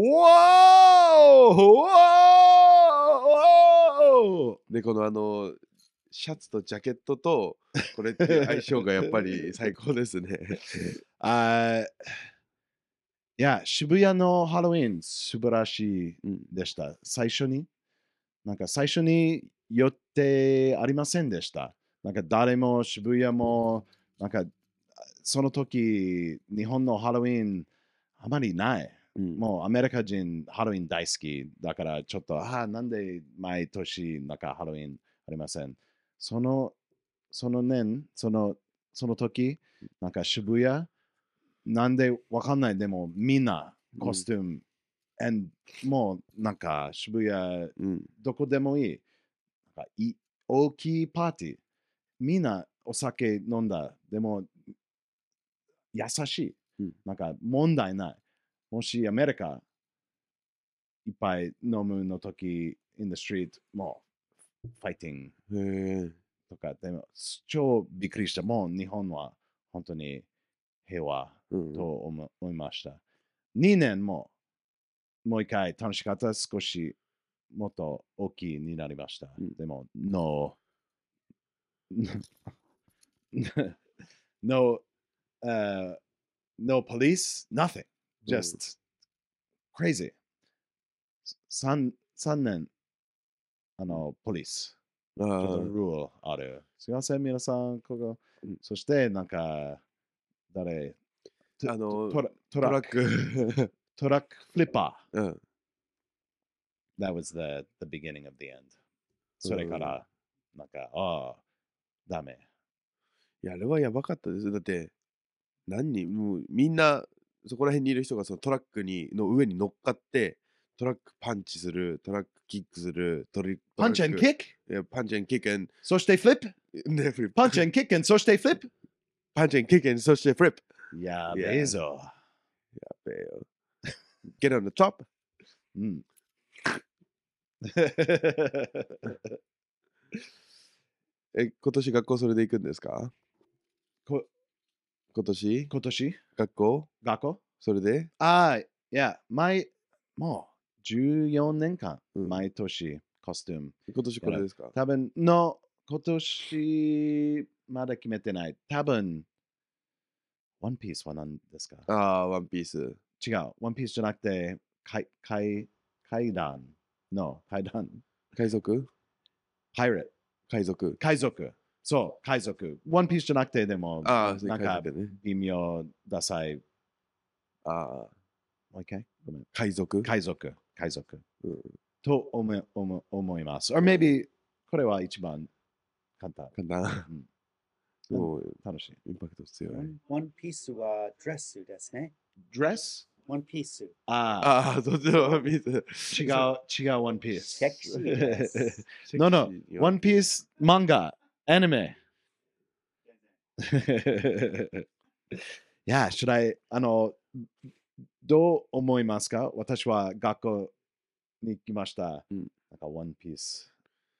で、このシャツとジャケットとこれっていう相性がやっぱり最高ですね。 いや、渋谷のハロウィン素晴らしいうんでした。最初に寄ってありませんでした。なんか誰も渋谷も、なんかその時、日本のハロウィンあまりない。 うんもうアメリカ人ハロウィン大好きだからちょっと、なんで毎年なんかハロウィンありません。その年、その時、なんか渋谷、なんでわかんない、でもみんなコスチューム、and もうなんか渋谷、 うんどこでもいい。なんか大きいパーティー、みんなお酒飲んだ。でも優しい。 うんなんか問題ない。もしアメリカいっぱい飲むの時、in the street、もうファイティングへえ。 とか、でも超びっくりした。もう日本は本当に平和うんと思いました。2年もう一回楽しかった。少しもっと大きいになりました。 うんでも、no, no police, nothing. Just crazy. 3年、ポリス。 あちょっとあ、 ルールある。すいません、皆さん、ここうん。 そして、なんか、誰トトラック。 トラックフリッパうん。 ー。That was the beginning of the end. それから、なんか、ダメ。 いや、あれはやばかったです。だって、もうみんな、そこら辺にいる人がそのトラックの上に乗っかって、トラックパンチする、トラックキックする、 パンチ and kick? いや、パンチ and kick and そしてフリップね、フリップ。 パンチ and kick and そしてフリップパンチ and kick and そしてフリップ。 やべえぞ。 やべえよ。Get on the top. うん。 今年学校それで行くんですか？今年今年学校学校それでいや、もう14年間、毎年コスチューム。 今年これですか？ 多分今年まだ決めてない。多分、ワンピースは何ですか？ ああ、ワンピース。 違う。ワンピースじゃなくて、階段。 海賊パイレット。海賊。そう、海賊。ワンピースじゃなくて、でも、 ああ、 なんか海賊ね。 微妙、ダサい。 ああ、 もう一回ごめん。 海賊海賊。 うんと思います。or maybe これは一番簡単。 かな。 うんもう、 楽しい。 インパクト強い。 ワンピースはドレスですね。 ドレスワンピース。 あああ、そっちのワンピース。 違うワンピース。 セクシーです。 No, One Piece 漫画、アニメ。いや、どう思いますか？私は学校に行きました。 うんなんか One Piece。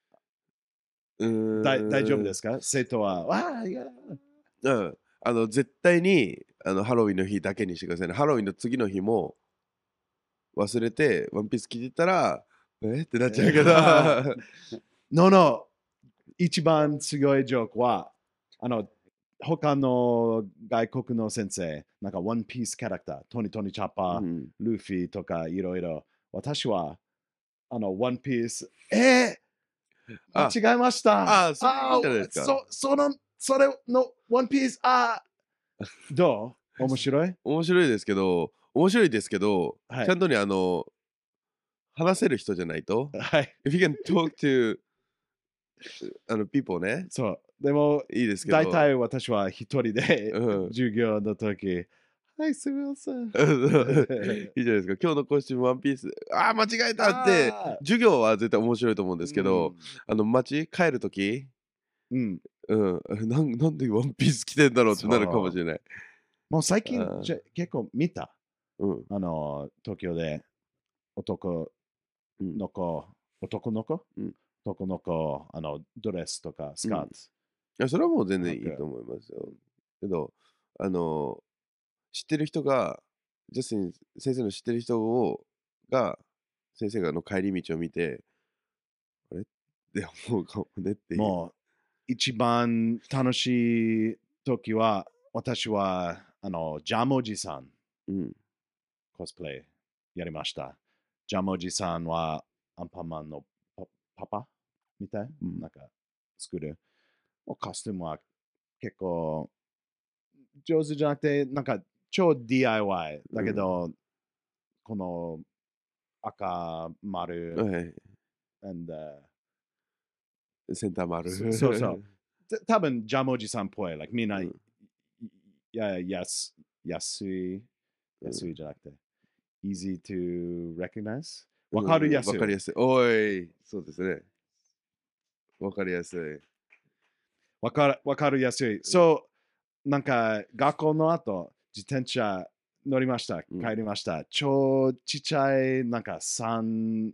大大丈夫ですか？生徒は。いや。 絶対にハロウィンの日だけにしてくださいね。ハロウィンの次の日も忘れてワンピース着てたらってなっちゃうけど。 No, 一番すごいジョークは他の外国の先生、なんかワンピースキャラクター、トニー・チャッパー、 うんルフィとかいろいろ。私はワンピース、間違えました。 そうじゃないですか。 それのワンピース、どう？面白い？ 面白いですけど、 はいちゃんとに話せる人じゃないと。 はい。 If you can talk to people ね、 そう。でも、 いいですけど。 大体私は一人でうん授業の時、はい、すみません。 いいじゃないですか。今日のコスチュームワンピース。間違えたって。授業は絶対面白いと思うんですけど、帰るときうん。 なんでワンピース着てんだろうってなるかもしれない。 もう最近あー結構見た。 うん。 東京で男の子、男の子、 うん男の子、ドレスとかスカート。 いや、それはもう全然いいなんかと思いますよ。けど、知ってる人が、ジャスティン先生の知ってる人が、先生が帰り道を見て、あれって思うかもねっていう。 もう一番楽しい時は、私はジャムおじさんうん。 コスプレやりました。ジャムおじさんはアンパンマンのパパみたい、 うんなんか作る。コスチュームは結構上手じゃなくて、なんか超 DIY だけど、この赤丸、 はい。 and センター丸。 そうそう多分ジャムおじさんっぽい。Like みんな、 うん安いじゃなくて、easy to recognize。わかりやすい。 わかりやすい。おい、そうですね。わかりやすい。 わかりやすい。そう、なんか学校の後、自転車乗りました。 うん帰りました。超ちっちゃい、なんか3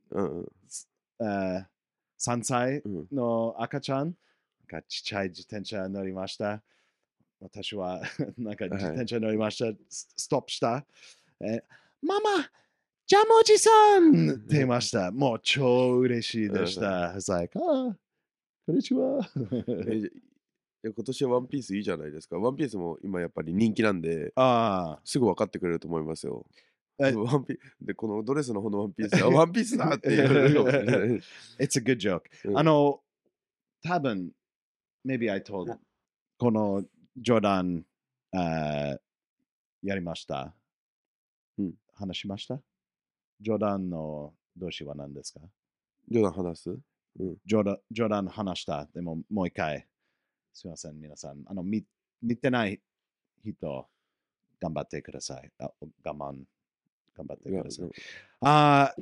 歳うんの赤ちゃんがちっちゃい自転車乗りました。私はなんか自転車乗りました。ストップした。ママ、ジャムおじさんって言いました。もう超嬉しいでした。It's like, こんにちは。 今年はワンピースいいじゃないですか。ワンピースも今やっぱり人気なんで、 あすぐ分かってくれると思いますよ。 あ。 ワンピで、このドレスの方のワンピース、ワンピースだって言われるかもしれない。 It's a good joke. うん多分、maybe I told このジョーダン、やりました。話しましたジョーダンの動詞は何ですか冗談話すジョーダン話した。でももう一回。すみません、皆さん。見てない人、頑張ってください。頑張ってください。ハ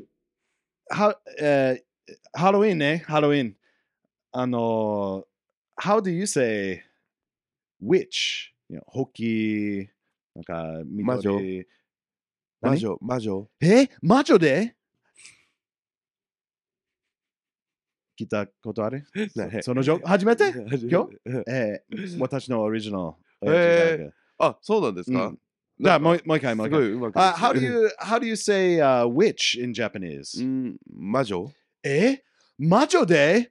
ロウィンね、ハロウィン。how do you say witch? ホキ、なんか、緑。 魔女。魔女で聞いたことあるそのジョーク初めて今日私のオリジナル。 あ、そうなんですかじゃあもう一回。 すごいうまく。 How do you say witch in Japanese? 魔女魔女で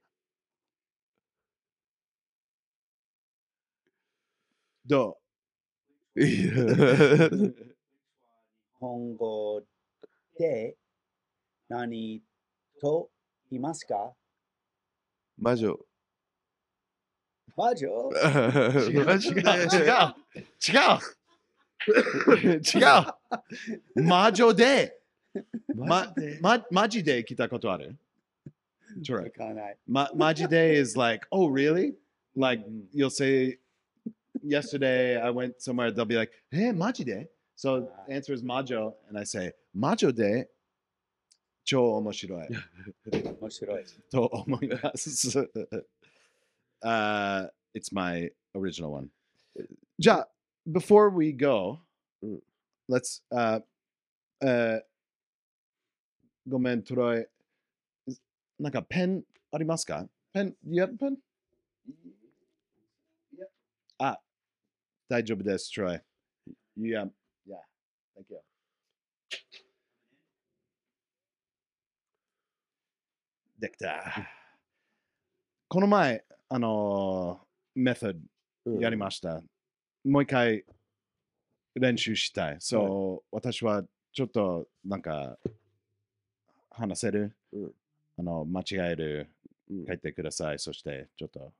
どう日本語で何と言いますか魔女。 魔女違う魔女でマジで来たことあるわからない。 マジで is like, oh really? Like you'll say yesterday I went somewhere, they'll be like, hey, マジで So the answer is 魔女 and I say 魔女で超面白い面白い。 と思いますIt's my original one じゃあ before we go let's ごめんトロイなんかペンありますかペン You have a pen? 大丈夫ですトロイ Yeah, thank youできたこの前メソッドやりましたもう一回練習したい。そう、私はちょっとなんか話せる、間違える、書いてください。そしてちょっと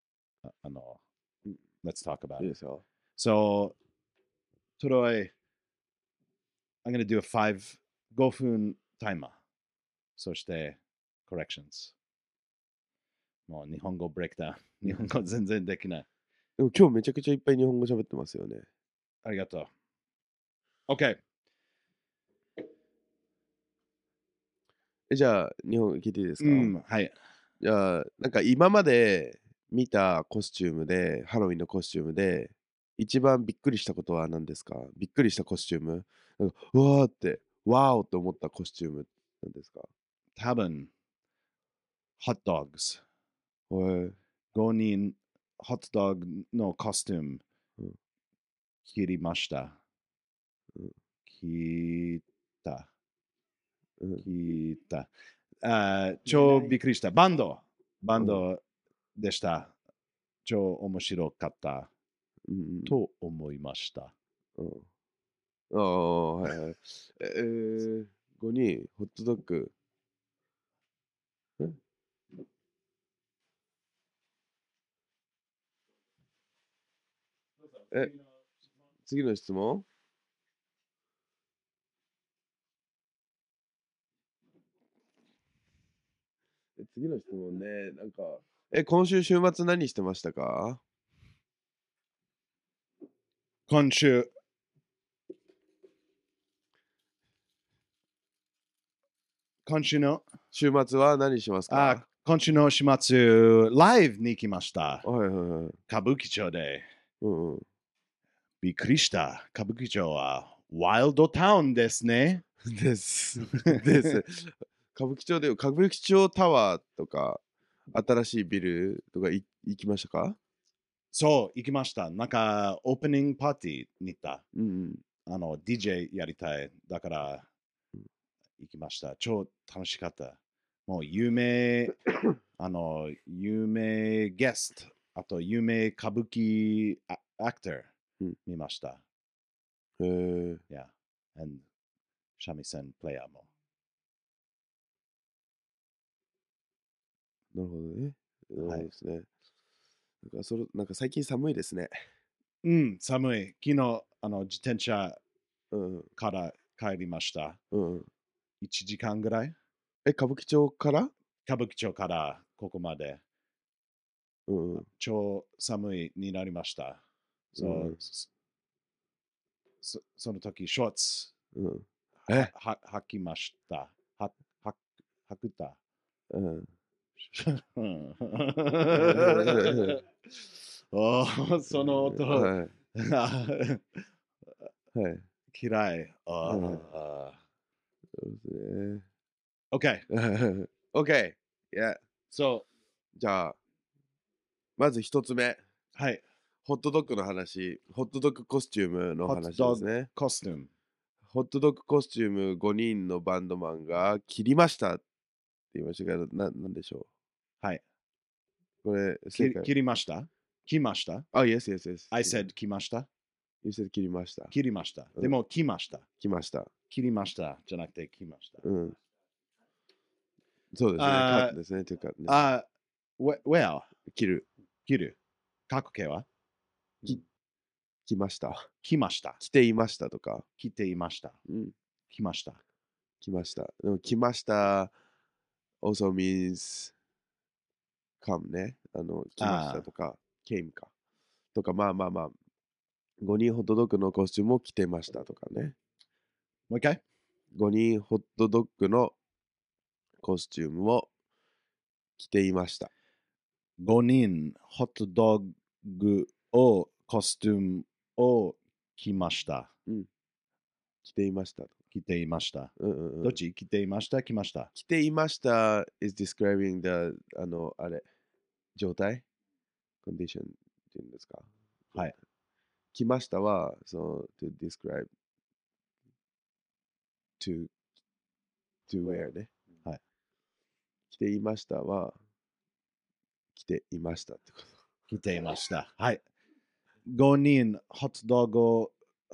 let's talk about it. So, Troy, I'm going to do a 5分タイマー。そして、corrections。もう日本語ブレイクダウン。日本語全然できない。 でも今日めちゃくちゃいっぱい日本語喋ってますよね。 ありがとう。OK。 じゃあ、日本聞いていいですか、 はい。 じゃあ、なんか今まで見たコスチュームで、ハロウィンのコスチュームで、一番びっくりしたことは何ですか？びっくりしたコスチューム。なんかうわーって、ワーオって思ったコスチュームなんですか？ 多分、ホットドッグス。 へ 5人、ホットドッグのコスチュームうん切りました。 うん切った。 うん切った。超びっくりした。バンドでした。超面白かったうんと思いました。 うんああ、はいはい。5人、ホットドッグ。え、次の質問次の質問ね、なんか、今週週末何してましたか？ 今週、の週末は何しますか？ 今週の週末、ライブに行きました。 はいはいはい。 歌舞伎町で。 うんうん。 びっくりした。歌舞伎町はワイルドタウンですね。 です。です。歌舞伎町タワーとか、新しいビルとか行きましたか？ そう、行きました。なんか、オープニングパーティーに行った。 うん DJ やりたい。だから、行きました。超楽しかった。もう、有名ゲスト、あと、有名歌舞伎アクターうん見ました。 うん。 Yeah. And 三味線プレイヤーも。 なるほどね。 はいそうですね。なんか最近寒いですね。 うん、寒い。昨日、自転車うんうんから帰りました。 うんうん。 1時間ぐらい歌舞伎町から歌舞伎町からここまでうんうん。 超寒いになりました。 うんその時、ショーツうん。 履きました。履くた。 うん。 おーその音、 はい。はい。 嫌い。 そうですね。 OK。 OK。Yeah。 So、 じゃあ、まず一つ目。 はい。 ホットドッグの話。ホットドッグコスチュームのホッ話トドッグですね。 コスチューム。 ホットドッグコスチューム5人のバンドマンが切りましたって言いましたけど、なんでしょはい。 うこれ、正解。 切りました来ましたあ、yes, yes, yes. ?I said 来ました You said 切りました。 切りました。 うんでも来ました。 来ました。 切りましたじゃなくて来ました。 うん。そうですね。 あーカットですね。というか、ね、 well、 切る。 切る。過去形は来ました。 来ました。 来ていましたとか。 来ていました。 うん。 来ました。 来ました。でも来ました also means come ね。来ましたとか、came か。とか、まあ。5人ホットドッグのコスチュームを着てましたとかね。 もう一回 5人ホットドッグのコスチュームを着ていました。 ?5 人ホットドッグをコスチュームを着ました。 着ていましたと。 着ていました。 うんうんうん、 どっち着ていました来ました着ていました is describing the あれ状態 condition っていうんですか。 はい。 来ましたはto describe to wear ね。 はい。 着ていましたは着ていましたってこと。 来ていました。はい。5人ホットドッグ、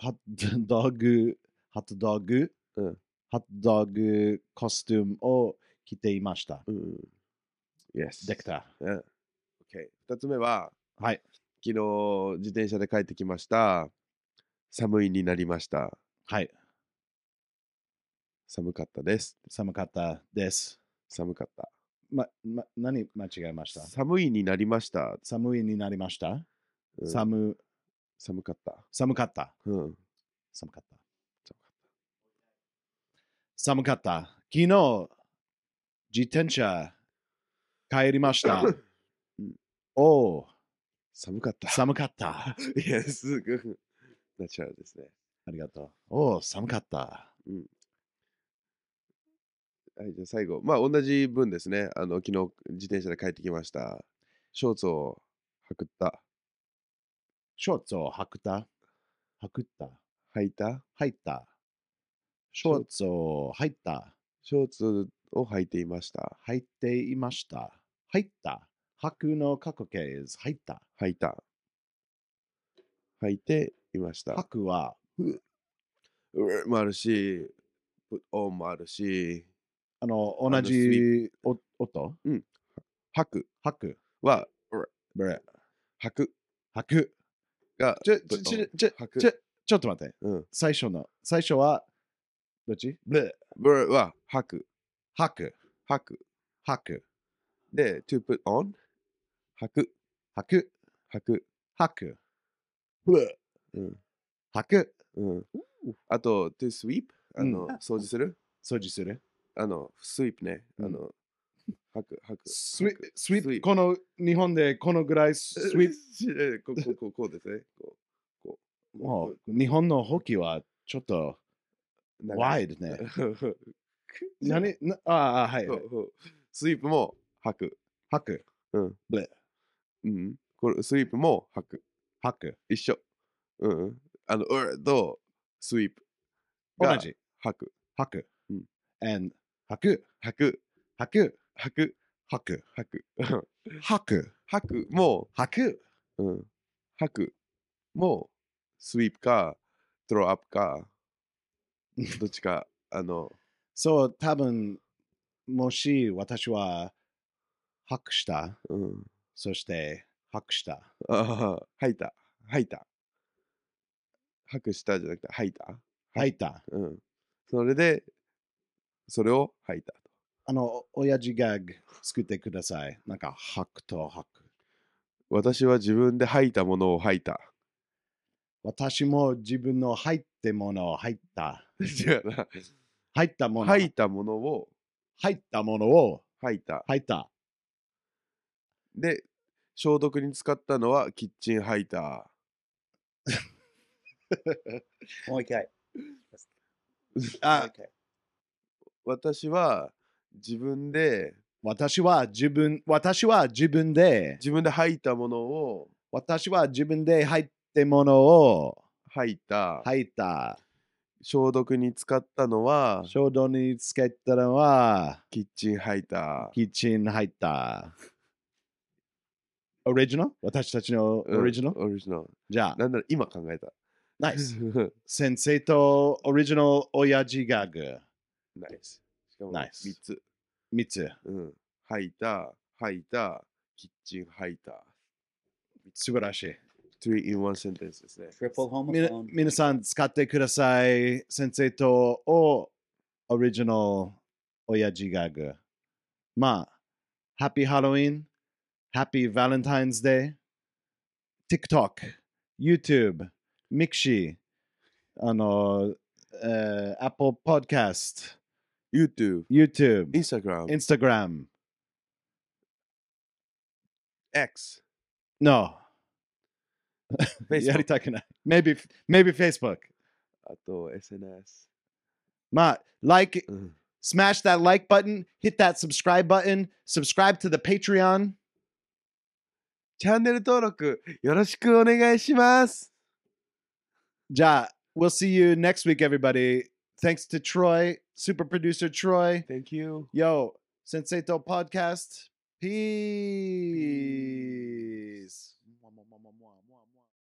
うんホットドッグコスチュームを着ていました。 Yes。 できた。 OK。2つ目は、 はい。 昨日自転車で帰ってきました。寒いになりました。 はい。 寒かったです。 寒かったです。 寒かった。 何間違えました寒いになりました。 寒いになりました、寒かった。 寒かった。寒かった。寒かった。昨日、自転車帰りました。 おー、 寒かった。 寒かった。 いや、すぐ。ナチュラルですね。 ありがとう。おー、寒かった。 はい、じゃあ最後。まあ、同じ分ですね。昨日、自転車で帰ってきました。ショーツを履くった。 ショーツを履くた。履くった。 履いた入った。ショーツを入った。 ショーツを履いていました。 入っていました。入った。履くの過去形 is 入った。 履いた。履いていました。 履くは、 もあるし、put on もあるし、 同じ音履く履く。 は、 ブレ。 履く履く。 が、 ちょ、 put ちょ、 on ちょ、 履くちょ、ちょっと待って。 うん。 最初は、どっちブレ。 ブレは履く。 履く。 履く。 履く。 で、to put on 履く。 履く。 履く。 履く。ブレ。 うん。 履く。 うん。あと、to sweep 掃除する掃除する。 スイープね。 うん履く。 スイープ、 スイープこの日本でこのぐらいスイープ。 こうですね。こう。 もう日本のホッキーはちょっとワイドね。はい。 スイープも履く。 履く。 うん。 ブレ。 これスイープも履く。 履く。 一緒。とスイープが同じ。 履く。 履く。 うん。 and 履く。 履く。 履く。 履く。 履く。 履く。 履く。 履くも、 履く。 履くも、スイープか、トローアップか、どっちか、 そう、多分もし私は履くした。そして履くした。 履いた。履くしたじゃなくて、履いた。 履いた。 それで、それを履いた。 親父ギャグ作ってください。なんか、履くと履く。 私は自分で履いたものを履いた。 私も自分の入ってものを入った。 違うな。 入ったもの。 履いたものを入ったものを履いた。 入った。 で、消毒に使ったのはキッチンハイタもう一回。 あもう一回私は自分で私は自分で履いたものを私は自分で入ってものを履いた。 入った。 消毒に使ったのは衝動につけたのはキッチンハイタキッチン入った。オリジナル私たちのオリジナル、 オリジナル。 じゃあ、 なんなら今考えた。 ナイス。先生とオリジナル親父ギャグ。 ナイス。しかもナイス 3つ。 3つ。 履いた、キッチンハイター。 素晴らしい。 3 in 1 sentence ですね。 Triple homophone. 皆さん使ってください。先生とオリジナル親父ギャグ。まあ、Happy Halloween, Happy Valentine's Day, TikTok, YouTube, Mixi, Apple Podcast, YouTube、 YouTube, Instagram、 Instagram. X、 No. や Facebook りたくない。Maybe Facebook. あと SNS。 まあ、smash that like button, hit that subscribe button, subscribe to the Patreon. チャンネル登録よろしくお願いします。 じゃあ、we'll see you next week, everybody. Thanks to Troy, super producer Troy. Thank you. Yo, Senseito Podcast. Peace.